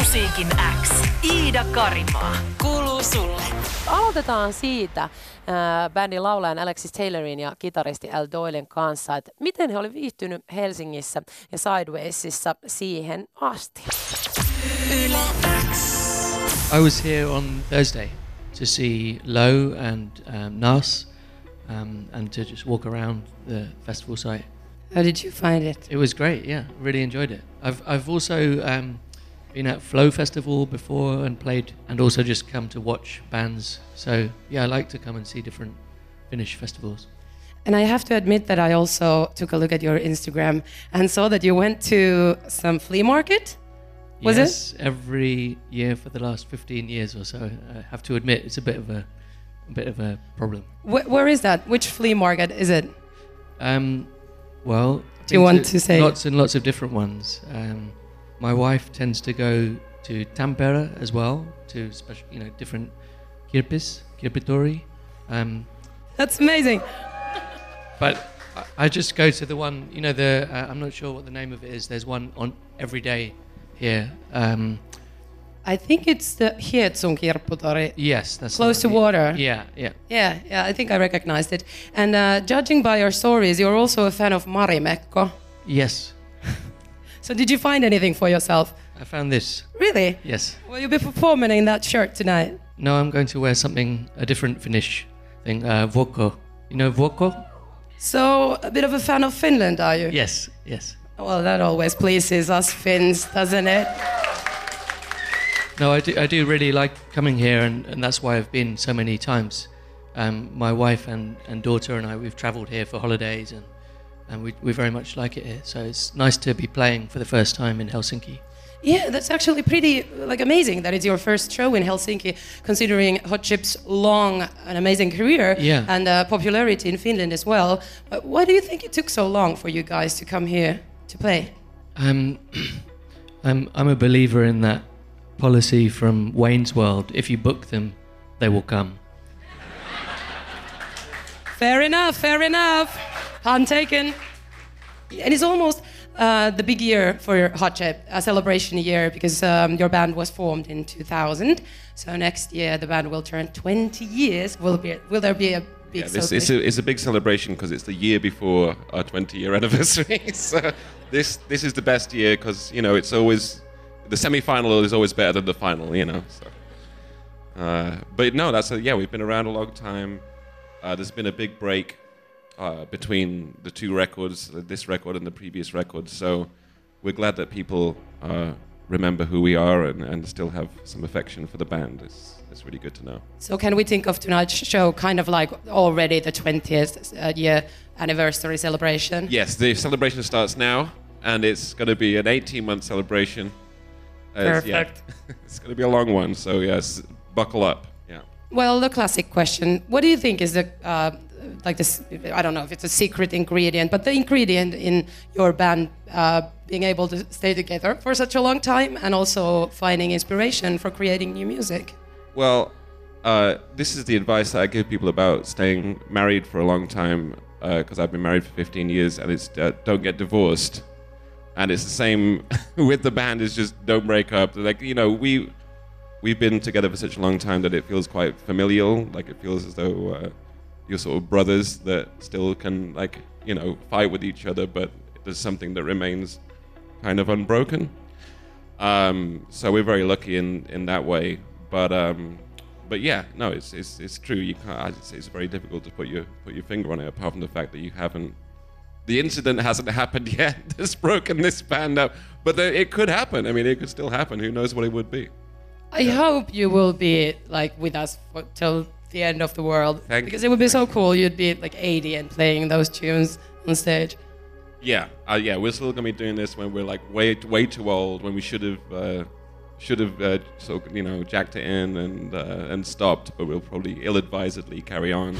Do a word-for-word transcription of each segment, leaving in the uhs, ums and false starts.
Musiikin X. Iida Karimaa. Kuuluu sulle. Aloitetaan siitä äh, bändin laulajan Alexis Taylorin ja kitaristi Al Doylen kanssa, että miten he olivat viihtynyt Helsingissä ja Sidewaysissa siihen asti. Yle X. I was here on Thursday to see Low and um, Nas um, and to just walk around the festival site. How did you find it? It was great, yeah, really enjoyed it. I've I've also um, been at Flow Festival before and played, and also just come to watch bands. So yeah, I like to come and see different Finnish festivals. And I have to admit that I also took a look at your Instagram and saw that you went to some flea market. Was yes, it? every year for the last fifteen years or so. I have to admit, it's a bit of a, a bit of a problem. Wh- where is that? Which flea market is it? Um, well, do you want to say lots and lots of different ones? Um, my wife tends to go to Tampere as well, to special, you know, different kirpis, kirpitori. Um, That's amazing. But I, I just go to the one, you know, the uh, I'm not sure what the name of it is. There's one on every day here. Um, I think it's the Hietsun Kirpputori. yes, that's Close to water. Yeah, yeah. Yeah, yeah, I think I recognized it. And uh, judging by your stories, you're also a fan of Marimekko. Yes. So did you find anything for yourself? I found this. Really? Yes. Will you be performing in that shirt tonight? No, I'm going to wear something, a different Finnish thing, uh, Vuokko. You know Vuokko? So, a bit of a fan of Finland, are you? Yes, yes. Well, that always pleases us Finns, doesn't it? No, I do, I do really like coming here, and, and that's why I've been so many times. Um, my wife and, and daughter and I, we've travelled here for holidays, and, and we, we very much like it here. So it's nice to be playing for the first time in Helsinki. Yeah, that's actually pretty like amazing that it's your first show in Helsinki, considering Hot Chip's long and amazing career Yeah. and uh, popularity in Finland as well. But why do you think it took so long for you guys to come here to play? Um, I'm, I'm a believer in that policy from Wayne's World. If you book them, they will come. Fair enough, fair enough. Pun taken. And it's almost uh, the big year for Hot Chip, a celebration year, because um, your band was formed in two thousand. So next year the band will turn twenty years. Will, be, will there be a big Yeah, this, it's, celebration? a, it's a big celebration because it's the year before our twenty-year anniversary. So this this is the best year because, you know, it's always... The semi-final is always better than the final, you know. So. Uh, but no, that's a, yeah, we've been around a long time. Uh, there's been a big break uh, between the two records, this record and the previous record. So we're glad that people uh, remember who we are and, and still have some affection for the band. It's, it's really good to know. So can we think of tonight's show kind of like already the twentieth uh, year anniversary celebration? Yes, the celebration starts now, and it's going to be an eighteen-month celebration. Uh, it's- yeah. Perfect. It's going to be a long one, so yes, buckle up. Yeah. Well, the classic question. What do you think is the, uh, like this, I don't know if it's a secret ingredient, but the ingredient in your band uh, being able to stay together for such a long time and also finding inspiration for creating new music? Well, uh, this is the advice that I give people about staying married for a long time, because uh, I've been married for fifteen years, and it's uh, don't get divorced. And it's the same with the band, is just don't break up. Like, you know, we, we've been together for such a long time that it feels quite familial. Like, it feels as though uh, you're sort of brothers that still can, like, you know, fight with each other, but there's something that remains kind of unbroken. Um, so we're very lucky in, in that way. But um, but yeah, no, it's it's it's true. You can't. It's, it's very difficult to put your put your finger on it, apart from the fact that you haven't. The incident hasn't happened yet that's broken this band up, but there, it could happen. I mean, it could still happen. Who knows what it would be? I hope you will be like with us for, till the end of the world, Thank because you. it would be so cool. You'd be like eighty and playing those tunes on stage. Yeah, uh, yeah. We're still gonna be doing this when we're like way way too old, when we should have uh, should have uh, so you know jacked it in and uh, and stopped, but we'll probably ill-advisedly carry on.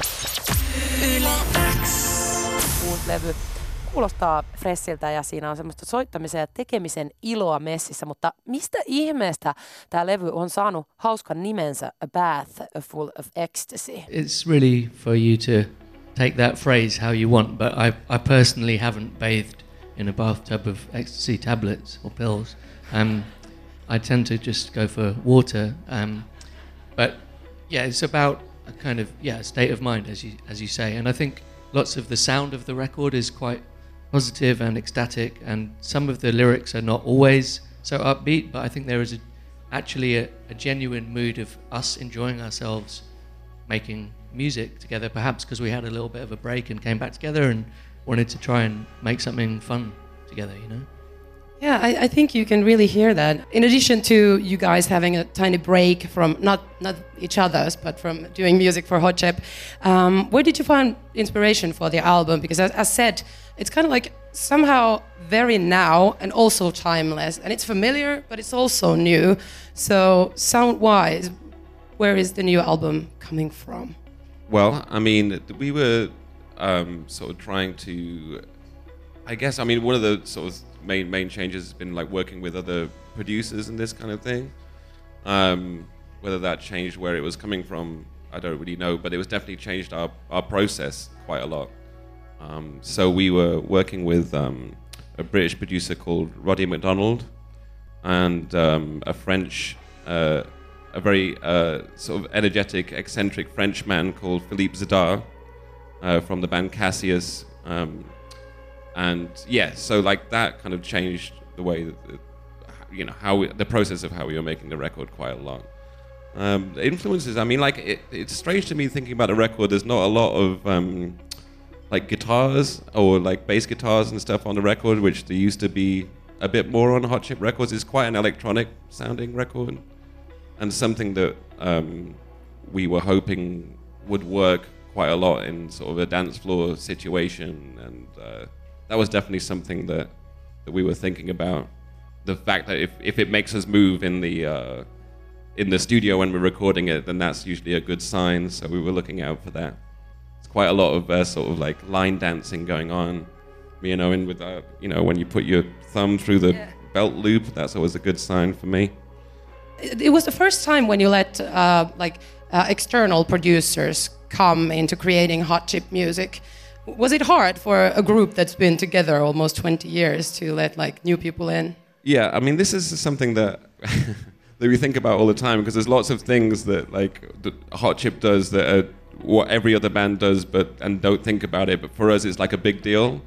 Yle X. Uusi levy kuulostaa fressiltä ja siinä on semmoista soittamisen ja tekemisen iloa messissä, mutta mistä ihmeestä tämä levy on saanut hauskan nimensä A Bath Full of Ecstasy? It's really for you to take that phrase how you want, but I, I personally haven't bathed in a bathtub of ecstasy tablets or pills. Um, I tend to just go for water. Um, but yeah, it's about a kind of yeah state of mind, as you as you say. And I think lots of the sound of the record is quite positive and ecstatic, and some of the lyrics are not always so upbeat, but I think there is a, actually a, a genuine mood of us enjoying ourselves making music together, perhaps because we had a little bit of a break and came back together and wanted to try and make something fun together, you know? Yeah, I, I think you can really hear that. In addition to you guys having a tiny break from not not each other's, but from doing music for Hot Chip, um, where did you find inspiration for the album? Because as, as said, it's kind of like somehow very now and also timeless, and it's familiar, but it's also new. So sound-wise, where is the new album coming from? Well, I mean, we were um, sort of trying to, I guess, I mean, one of the sort of main main changes has been like working with other producers and this kind of thing. Um, whether that changed where it was coming from, I don't really know, but it was definitely changed our, our process quite a lot. Um, so we were working with um, a British producer called Roddy McDonald and um, a French, uh, a very uh, sort of energetic, eccentric Frenchman called Philippe Zidar uh, from the band Cassius. Um, And yeah, so like that kind of changed the way that, the, you know, how we, the process of how we were making the record quite a lot. Um, the influences, I mean, like it, it's strange to me thinking about a record. There's not a lot of um, like guitars or like bass guitars and stuff on the record, which there used to be a bit more on Hot Chip Records. It's quite an electronic sounding record, and something that um, we were hoping would work quite a lot in sort of a dance floor situation, and uh, that was definitely something that, that we were thinking about. The fact that if, if it makes us move in the uh, in the studio when we're recording it, then that's usually a good sign. So we were looking out for that. It's quite a lot of uh, sort of like line dancing going on, you know, and with uh, you know, when you put your thumb through the yeah. belt loop, that's always a good sign for me. It was the first time when you let uh, like uh, external producers come into creating Hot Chip music. Was it hard for a group that's been together almost twenty years to let like new people in? Yeah, I mean, this is something that that we think about all the time, because there's lots of things that like that Hot Chip does that are what every other band does, but and don't think about it. But for us, it's like a big deal.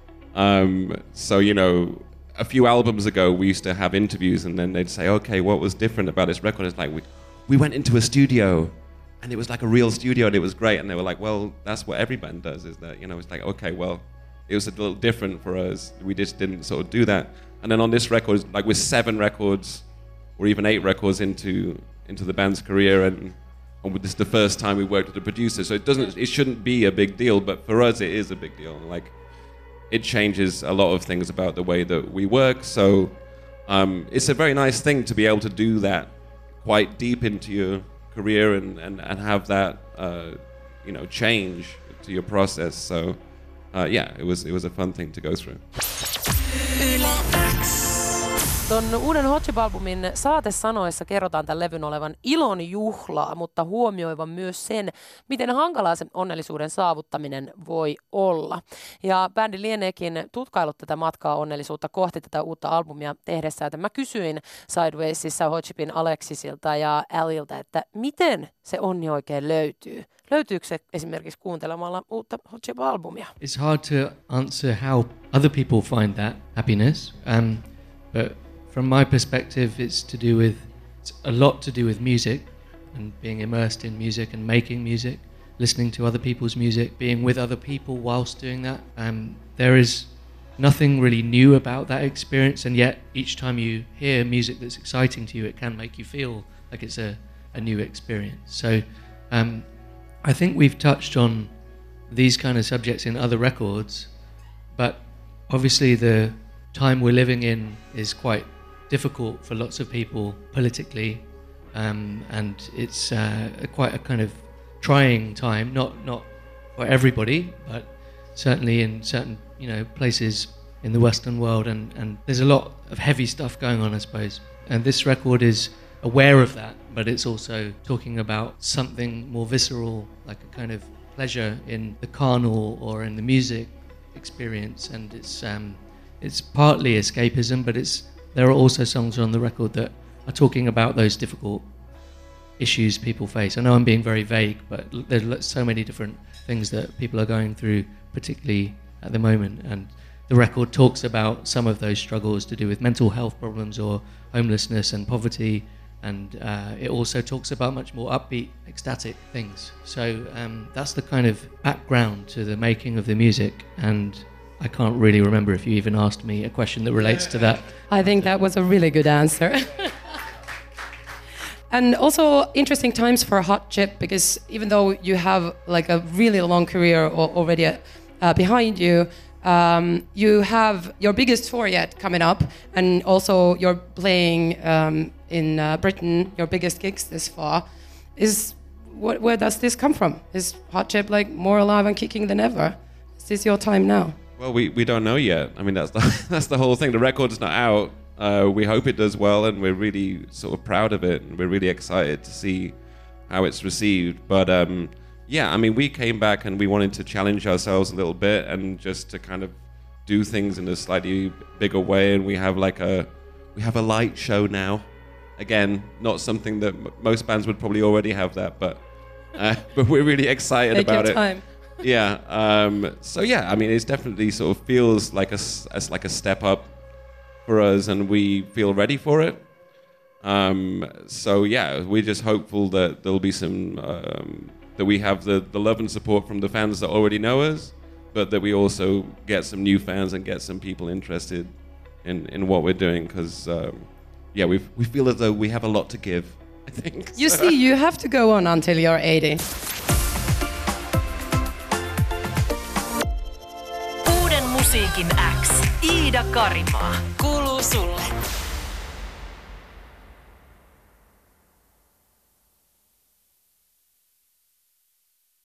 Um, so you know, a few albums ago, we used to have interviews, and then they'd say, "Okay, what was different about this record?" It's like we we went into a studio. And it was like a real studio, and it was great. And they were like, well, that's what every band does, is that, you know, it's like, okay, well, it was a little different for us. We just didn't sort of do that. And then on this record, like we're seven records, or even eight records into into the band's career, and, and this is the first time we worked with a producer. So it doesn't, it shouldn't be a big deal, but for us, it is a big deal. Like, it changes a lot of things about the way that we work. So um, it's a very nice thing to be able to do that quite deep into your career and, and, and have that uh, you know, change to your process. So uh, yeah, it was it was a fun thing to go through. Ton uuden Hot Chip-albumin saatesanoissa kerrotaan tämän levyn olevan ilon juhlaa, mutta huomioivan myös sen, miten hankalaa se onnellisuuden saavuttaminen voi olla. Ja bändi lieneekin tutkaillut tätä matkaa onnellisuutta kohti tätä uutta albumia tehdessään. Mä kysyin Sidewaysissa Hot Chipin Alexisilta ja Alilta, että miten se onni oikein löytyy. Löytyykö se esimerkiksi kuuntelemalla uutta Hot Chip-albumia? It's hard to answer how other people find that happiness, um, but from my perspective, it's to do with, it's a lot to do with music and being immersed in music and making music, listening to other people's music, being with other people whilst doing that. Um, there is nothing really new about that experience, and yet each time you hear music that's exciting to you, it can make you feel like it's a, a new experience. So um, I think we've touched on these kind of subjects in other records, but obviously the time we're living in is quite difficult for lots of people politically, um, and it's uh, a quite a kind of trying time. Not not for everybody, but certainly in certain you know places in the Western world, and, and there's a lot of heavy stuff going on, I suppose. And this record is aware of that, but it's also talking about something more visceral, like a kind of pleasure in the carnal or in the music experience, and it's um, it's partly escapism, but it's there are also songs on the record that are talking about those difficult issues people face. I know I'm being very vague, but there's so many different things that people are going through, particularly at the moment. And the record talks about some of those struggles to do with mental health problems or homelessness and poverty. And uh, it also talks about much more upbeat, ecstatic things. So um, that's the kind of background to the making of the music. And I can't really remember if you even asked me a question that relates to that. I think that was a really good answer. And also interesting times for Hot Chip, because even though you have like a really long career already uh, behind you, um, you have your biggest tour yet coming up, and also you're playing um, in uh, Britain, your biggest gigs this far. Is what, where does this come from? Is Hot Chip like more alive and kicking than ever? Is this your time now? Well, we, we don't know yet. I mean, that's the, that's the whole thing. The record's not out. Uh, we hope it does well, and we're really sort of proud of it, and we're really excited to see how it's received. But um, yeah, I mean, we came back and we wanted to challenge ourselves a little bit and just to kind of do things in a slightly bigger way. And we have like a we have a light show now. Again, not something that m- most bands would probably already have that, but uh, but we're really excited Take about your it. time. Yeah. Um, so yeah, I mean, it definitely sort of feels like a s- as like a step up for us, and we feel ready for it. Um, so yeah, we're just hopeful that there'll be some um, that we have the, the love and support from the fans that already know us, but that we also get some new fans and get some people interested in, in what we're doing, because um, yeah, we we feel as though we have a lot to give, I think. You see, you have to go on until you're eighty. Uuden musiikin X. Iida Karimaa. Kuuluu sulle.